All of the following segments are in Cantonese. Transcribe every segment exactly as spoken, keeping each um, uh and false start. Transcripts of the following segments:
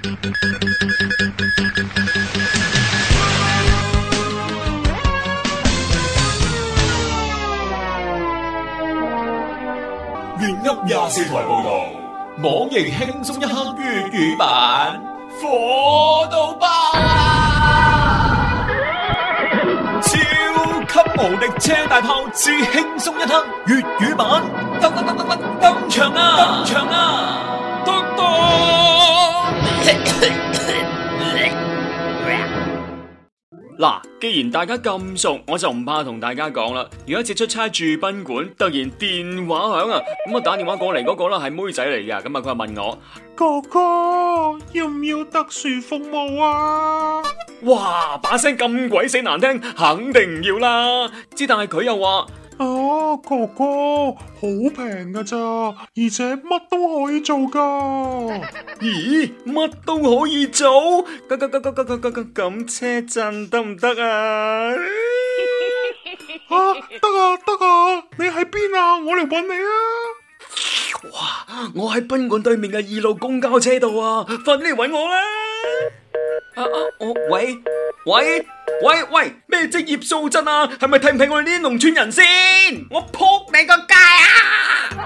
粵噏廿四台報道，網易輕鬆一刻粵語版，火到爆啊！超級無敵車大炮之輕鬆一刻粵語版，登登登登登登場啊！登場啊！登登嗱，既然大家咁熟，我就唔怕同大家講啦。有一次出差住賓館，突然電話響啊，咁啊打電話過嚟嗰個啦係妹仔嚟噶，咁啊佢問我哥哥要唔要特殊服務啊？ 哇，把聲咁鬼死難聽，肯定唔要啦。之但係佢又話。 啊，哥哥，好平噶咋，而且乜都可以做噶。 咦，乜都可以做？咁咁咁咁咁咁咁咁車震得唔得啊？ 啊，得啊得啊，你喺邊啊？我嚟搵你啊！ 哇，我喺賓館對面嘅二路公交車度啊，快啲嚟搵我啦！啊啊，我喂喂喂喂，咩職業素質啊？係咪睇唔起我哋呢啲農村人先？我撲你個街啊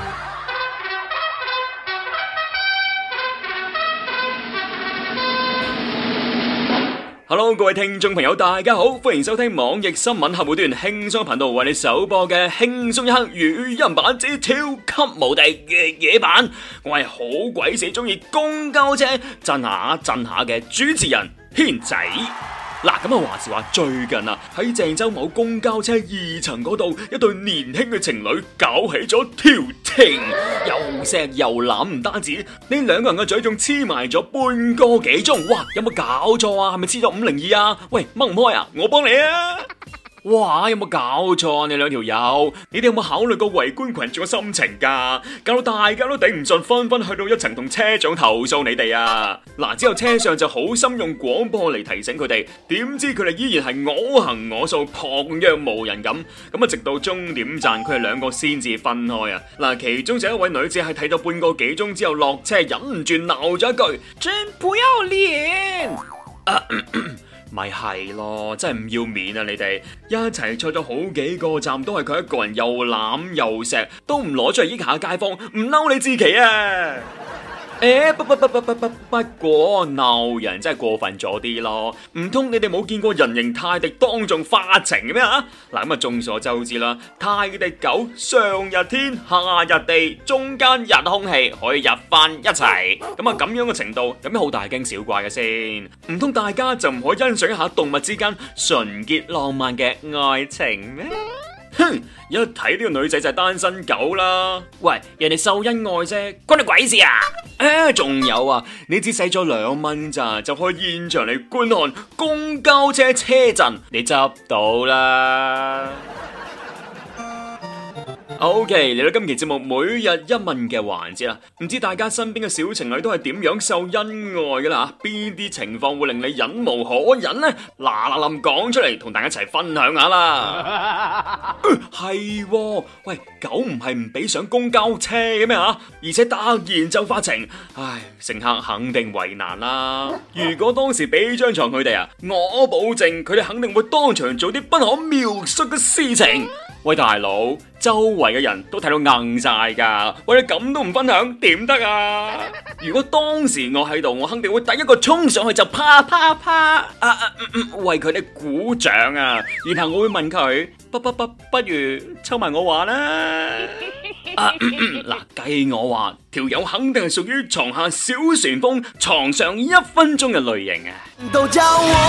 ！Hello， 各位聽眾朋友，大家好，歡迎收聽網易新聞客戶端輕鬆頻道為你首播嘅輕鬆一刻語音版之超級無敵粵語版。我係好鬼死中意公交車震下震下嘅主持人軒仔。嗱，咁啊話時話最近啊喺鄭州某公交車二層嗰度，一對年輕嘅情侶搞起咗調情，又錫又攬，唔單止呢兩個人嘅嘴仲黐埋咗半個幾鐘，哇！有冇搞錯啊？係咪黐咗五零二啊？喂，掹唔開啊？我幫你啊！哇！有冇搞錯啊？你兩條友，你哋有冇考慮過圍觀群眾嘅心情噶？搞到大家都頂唔順，紛紛去到一層同車長投訴你哋啊！嗱，之後車上就好心用廣播嚟提醒佢哋，點知佢哋依然係我行我素，旁若無人咁。咁啊，直到終點站，佢哋兩個先至分開啊！嗱，其中就一位女子係睇到半個幾鐘之後落車，忍唔住鬧咗一句：真不要臉！啊咳咳咪係咯，真係唔要面啊！你哋一齊坐咗好幾個站，都係佢一個人又攬又錫，都唔攞出嚟益下街坊，唔嬲你自己啊！誒，不不不不不不不過鬧人真係過分咗啲咯，唔通你哋冇見過人形泰迪當眾發情嘅咩啊？嗱，咁啊眾所周知啦，泰迪狗上日天下日地，中間日空氣可以入翻一齊，咁啊咁樣嘅程度有咩好大驚小怪嘅先？唔通大家就唔可以欣賞一下動物之間純潔浪漫嘅愛情咩？哼！一睇呢個女仔就係單身狗啦。喂，人哋秀恩愛啫，關你鬼事啊！誒，仲有啊，你只使咗兩蚊咋，就可以現場嚟觀看公交車車震，你執到啦。OK，嚟到今期節目每日一問嘅環節啦，唔知大家身邊嘅小情侶都係點樣秀恩愛嘅啦？邊啲情況會令你忍無可忍呢？嗱嗱臨講出嚟，同大家一齊分享下啦。係、呃，喂，狗唔係唔俾上公交車嘅咩吓？而且突然就發情，唉，乘客肯定為難啦。如果當時俾張床佢哋啊，我保證佢哋肯定會當場做啲不可描述嘅事情。喂，大佬，周圍嘅人都睇到硬晒噶，喂，你咁都唔分享，點得啊？如果當時我喺度，我肯定會第一個衝上去就啪啪啪，啊啊嗯嗯，為佢哋鼓掌啊！然後我會問佢，不不不，不如抽埋我話啦。啊，嗱，計我話，條友肯定係屬於床下小旋風，床上一分鐘嘅類型啊！都叫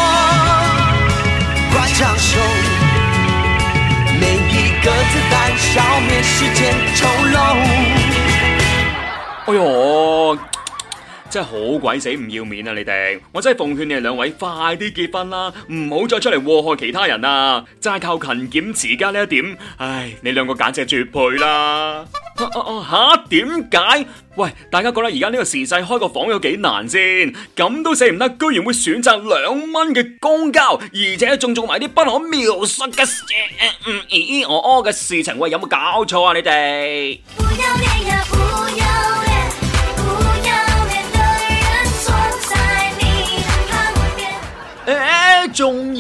我快長壽。個子彈消滅世間醜陋。哎喲，真係好鬼死唔要面啊！你哋，我真係奉勸你哋兩位快啲結婚啦，唔好再出嚟禍害其他人啊！齋靠勤儉持家呢一點，唉，你兩個簡直係絕配啦！啊啊啊吓？點解？喂，大家覺得而家呢個時勢開個房有幾難先？咁都死唔得，居然會選擇兩蚊嘅公交，而且仲做埋啲不可描述嘅事，嗯，咦咦我屙嘅事情，喂，有冇搞錯啊？你哋？不要臉呀，不要臉，不要臉的人總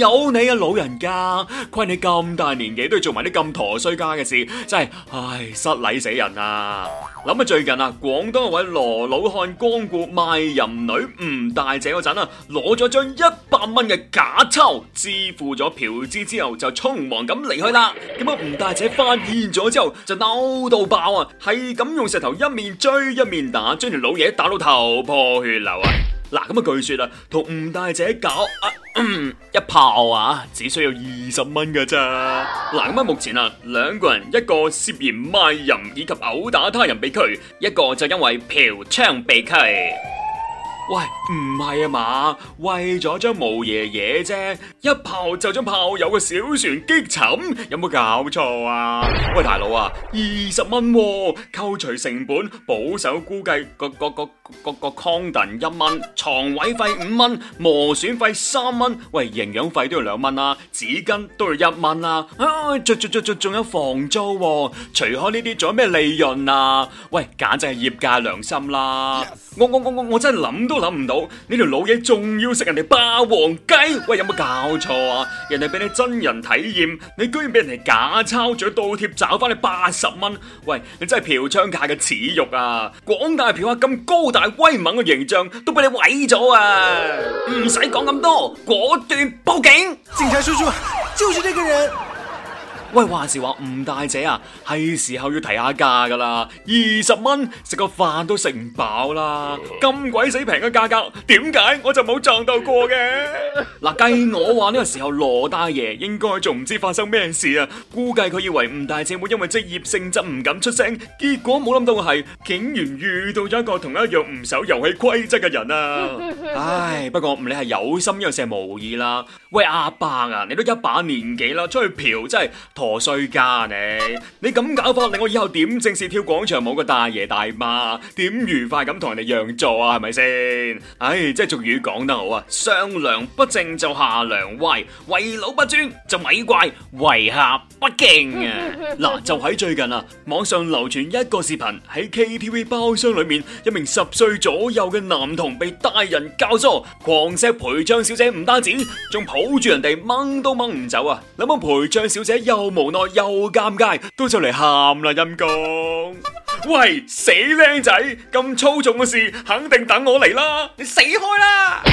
有你啊老人家，虧你咁大年紀都要做埋啲咁陀衰家嘅事，真係唉失禮死人啊！諗下最近啊，廣東一位羅老漢光顧賣淫女吳大姐嗰陣啊，攞咗張一百蚊嘅假鈔，支付咗嫖資之後就匆忙咁離去啦。咁啊，吳大姐發現咗之後就嬲到爆啊，係咁用石頭一面追一面打，將條老嘢打到頭破血流啊！嗱，咁啊，據說啊，同吳大姐搞啊、嗯、一炮啊，只需要二十蚊噶咋。嗱，咁啊，目前啊，兩個人，一個涉嫌賣淫以及毆打他人被拘，一個就因為嫖娼被拘。喂，唔係啊嘛，為咗張毛爺爺啫，一炮就將炮友嘅小船擊沉，有冇搞錯啊？喂，大佬啊，二十蚊，扣除成本，保守估計個個個個個 condom 一蚊，床位費五蚊，磨損費三蚊，喂，營養費都要兩蚊啦，紙巾都要一蚊啦，啊，仲仲仲仲有房租，啊，除開呢啲仲有咩利潤啊？喂，簡直係業界良心啦！ Yes. 我我我我我真係諗都諗唔到，呢條老嘢仲要食人哋霸王雞，喂，有冇搞錯啊？人哋俾你真人體驗，你居然俾人哋假鈔，仲要倒貼找翻你八十蚊，喂，你真係嫖娼界嘅恥辱啊！廣大嫖客咁高大威猛嘅形象都俾你毀咗啊！唔使講咁多，果斷報警！ 警察叔叔，就是這個人。 喂，話時話吳大姐啊，係時候要提下價噶啦，二十蚊食個飯都食唔飽啦，咁鬼死平嘅價格，點解我就冇撞到過嘅？嗱，計我話呢個時候羅大爺應該仲唔知發生咩事啊，估計佢以為吳大姐會因為職業性質唔敢出聲，結果冇諗到嘅係，竟然遇到咗一個同一樣唔守遊戲規則嘅人啊！唉，不過唔理係有心因為係無意啦。喂，阿伯啊，你都一把年紀啦，出去嫖真係陀衰家你，你咁搞法令我以後點正式跳廣場舞嘅大爺大媽，點愉快咁同人哋讓座啊？係咪先？唉，即係俗語講得好啊，上梁不正就下梁歪，為老不尊就咪怪為下不敬啊！嗱，就喺最近啊，網上流傳一個視頻，喺 K T V 包廂裏面，一名十歲左右嘅男童被大人教唆，狂錫陪唱小姐唔單止，仲抱住人哋掹都掹唔走啊！諗下陪唱小姐又無奈又尷尬，都就嚟喊啦陰公！喂，死靚仔，咁粗重嘅事肯定等我嚟啦！你死開啦！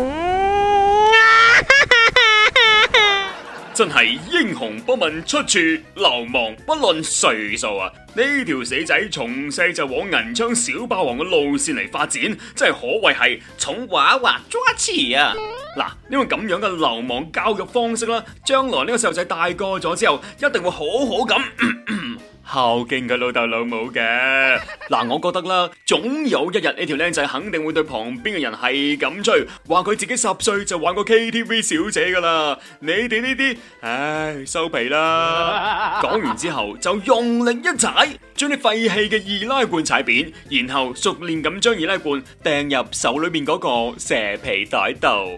真係英雄不問出處，流氓不論歲數啊！呢條死仔從細就往銀槍小霸王嘅路線嚟發展，真係可謂係從娃娃抓起啊！嗱，呢個咁樣嘅流氓教育方式啦，將來呢個細路仔大個咗之後，一定會好好咁孝敬佢老豆老母嘅。嗱，我覺得啦，總有一日呢條靚仔肯定會對旁邊嘅人係咁吹，話佢自己十歲就玩過 K T V 小姐噶啦。你哋呢啲，唉，收皮啦！講完之後就用力一踩，將啲廢棄嘅易拉罐踩扁，然後熟練咁將易拉罐掟入手裏面嗰個蛇皮袋度。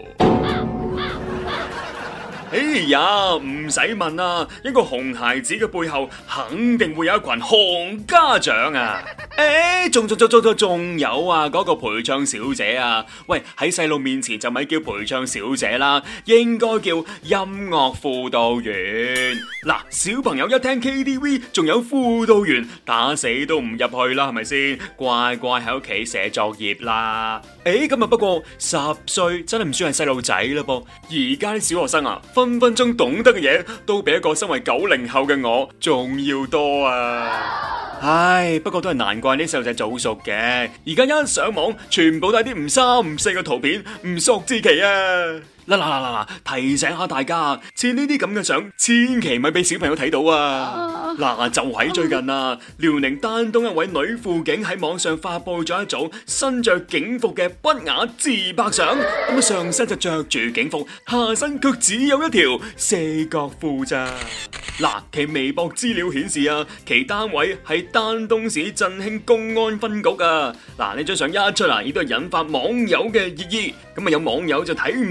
哎呀，唔使問啊，一個熊孩子嘅背後肯定會有一群熊家長啊！誒，仲仲仲仲仲有啊，嗰個陪唱小姐啊，喂，喺細路面前就咪叫陪唱小姐啦，應該叫音樂輔導員。嗱，小朋友一聽 K T V 仲有輔導員，打死都唔入去啦，係咪先？乖乖喺屋企寫作業啦。誒，咁啊，不過十歲真係唔算係細路仔啦噃，而家啲小學生啊，分分鐘懂得嘅嘢都比一個身為九零後嘅我仲要多啊！唉，不過都係難怪啲細路仔早熟嘅，而家一上網全部都係啲唔三唔四嘅圖片，唔熟之奇啊！嗱嗱嗱嗱嗱，提醒下大家，似呢啲咁嘅相，千祈咪俾小朋友睇到啊！嗱，就喺最近啊，遼寧丹東一位女輔警喺網上發佈咗一組身着警服嘅不雅自拍相，咁啊上身就着住警服，下身卻只有一條四角褲咋。嗱，其微博資料顯示啊，其單位係丹東市振興公安分局啊。嗱，呢張相一出嚟，亦都係引發網友嘅熱議。咁啊，有網友就睇唔落去啦，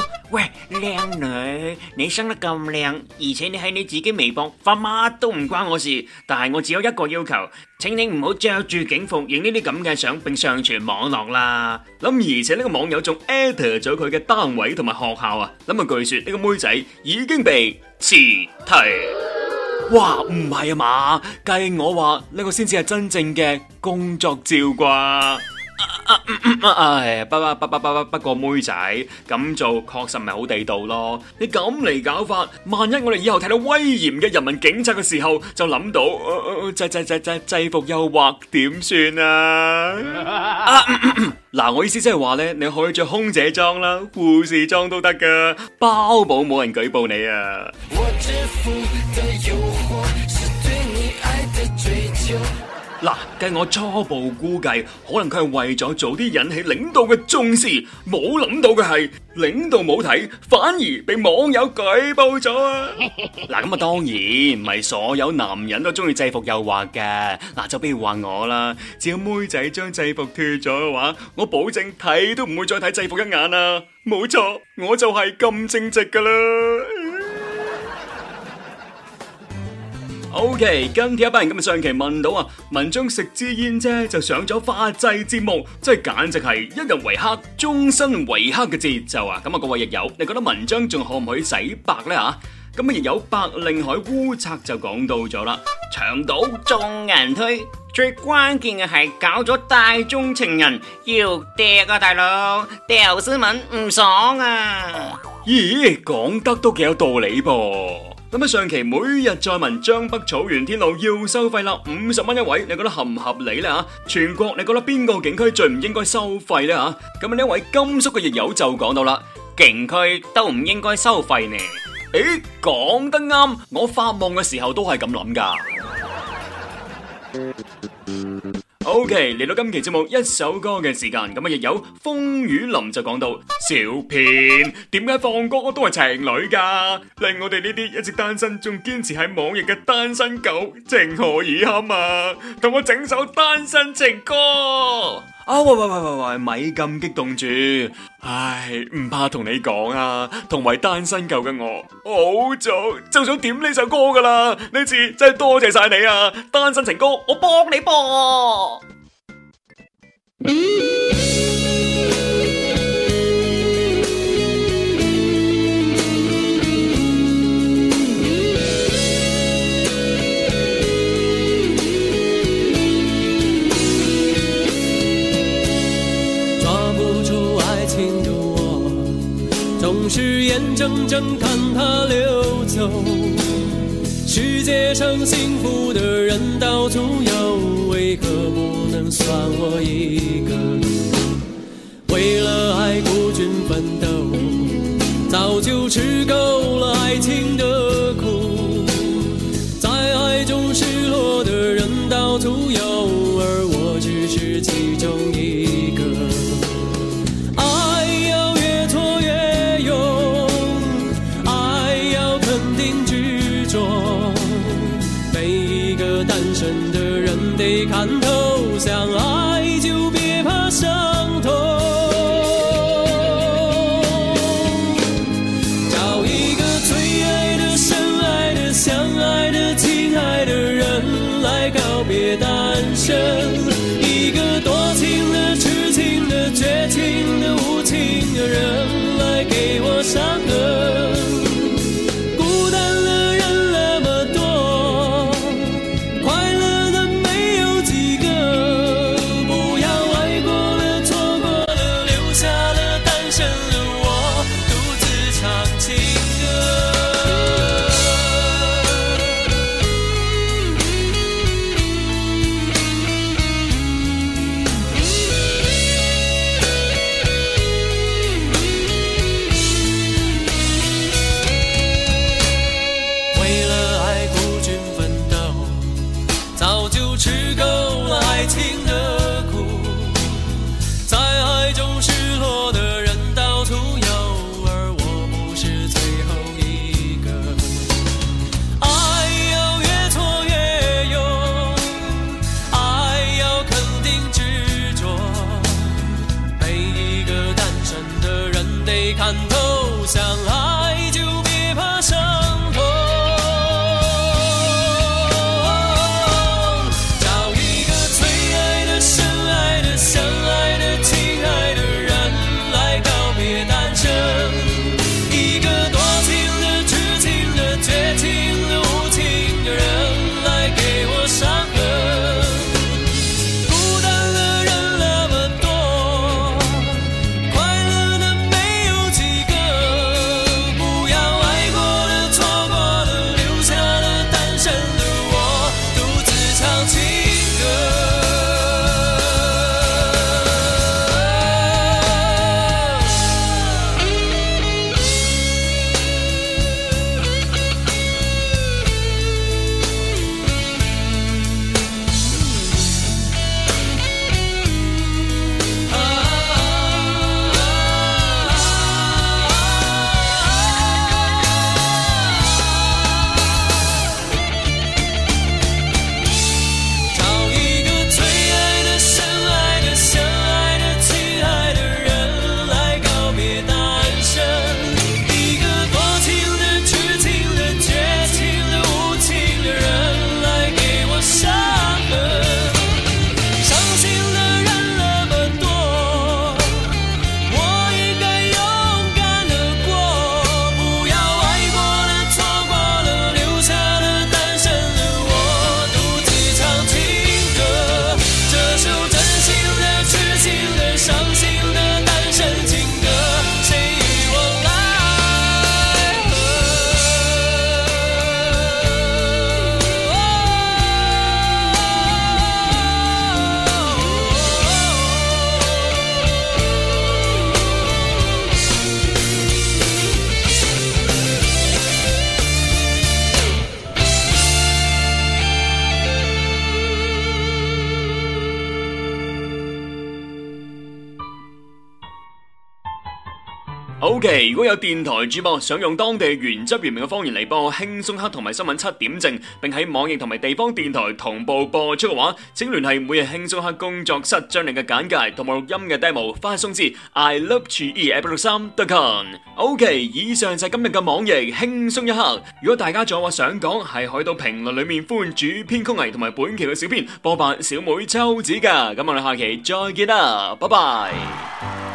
咯，喂，靚女，你生得咁靚，而且你喺你自己微博發乜都唔關我事，但係我只有一個要求，請你唔好着住警服影呢啲咁嘅相並上傳網絡啦。咁而且呢個網友仲 at 咗佢嘅單位同埋學校啊，咁啊據說呢個妹仔已經被辭退。哇，唔係啊嘛，計我話呢個先至係真正嘅工作照啩。啊嗯嗯啊哎、不不不不不不過妹仔咁做確實唔係好地道咯。你咁嚟搞法，萬一我哋以後睇到威嚴嘅人民警察嘅時候，就諗到制制制制制服誘惑點算啊？嗱、啊嗯嗯嗯，我意思即係話咧，你可以着空姐裝啦、護士裝都得噶，包保冇人舉報你啊！我致富的誘惑是對你愛的追求。嗱，計我初步估計，可能佢係為咗早啲引起領導嘅重視，冇諗到嘅係領導冇睇，反而被網友舉報咗啊！嗱，咁啊當然唔係所有男人都中意制服誘惑嘅，嗱就比如話我啦，只要妹仔將制服脫咗嘅話，我保證睇都唔會再睇制服一眼啊！冇錯，我就係咁正直噶啦。OK， 跟帖一班人今日上期問到啊，文章食支煙啫就上咗法制節目，真係簡直係一日為黑，終身為黑嘅節奏啊！咁啊，各位亦友，你覺得文章仲可唔可以洗白呢？吓？咁啊，亦有白令海烏賊就講到咗啦，牆倒眾人推，最關鍵嘅係搞咗大眾情人要掟啊，大佬掉新聞唔爽啊！咦，講得都幾有道理噃。咁啊，上期每日再問江北草原天路要收費啦，五十蚊一位，你覺得合唔合理咧吓？全國你覺得邊個景區最唔應該收費咧吓？咁啊，呢一位甘肅嘅亦友就講到啦，景區都唔應該收費呢。誒，講得啱，我發夢嘅時候都係咁諗噶。OK， 嚟到今期節目一首歌嘅時間，咁啊亦有風雨林就講到，小編點解放歌都係情侶噶，令我哋呢啲一直單身仲堅持喺網易嘅單身狗情何以堪啊！同我整首單身情歌啊！喂喂喂喂喂，咪咁激動住，唉，唔怕同你講啊，同為單身狗嘅我，好早就想點呢首歌噶啦，呢次真係多謝晒你啊！單身情歌，我幫你播。总是眼睁睁看它流走，世界上幸福的人到处有，为何不能算我一个？为了爱孤军奋斗，早就吃够了爱情的苦，在爱中失落的人到处有，而我只是其中一个。得看透，相爱就别怕伤痛，找一个最爱的、深爱的、相爱的、亲爱的人来告别单身，一个多情的、痴情的、绝情的、无情的人来给我伤痕。看透相爱就别怕伤痛，找一个最爱的、深爱的、相爱的、亲爱的人来告别单身，一个多情的、痴情的、绝情的、无情的人来给我伤痕。孤单的人那么多，快乐的没有几个，不要爱过了、错过了，留下了单身的我，独自唱情歌。找一个最爱的、深爱的、相爱的、亲爱的人来告别单身，一个多情的、痴情的、绝情的、无情的人来给我伤痕。伤心的人那么多，我应该勇敢地过，不要爱过了、错过了，留下了单身的我，独自唱情歌。这首真心的、痴情的、伤心的单身情歌，谁与我来 OK， 如果有電台主播想用當地原汁原味嘅方言嚟幫我輕鬆黑同埋新聞七點正，並喺網易同埋地方電台同步播出嘅話，請聯繫每日輕鬆黑工作室，將你嘅簡介同埋錄音嘅 demo 發送至 i love chu e at 六三 dot com。OK， 以上就係今日嘅網易輕鬆一刻。如果大家仲有話想講，係可以到評論裡面歡主編曲藝同埋本期嘅小編播辦小妹秋子㗎。咁我哋下期再見啦，拜拜。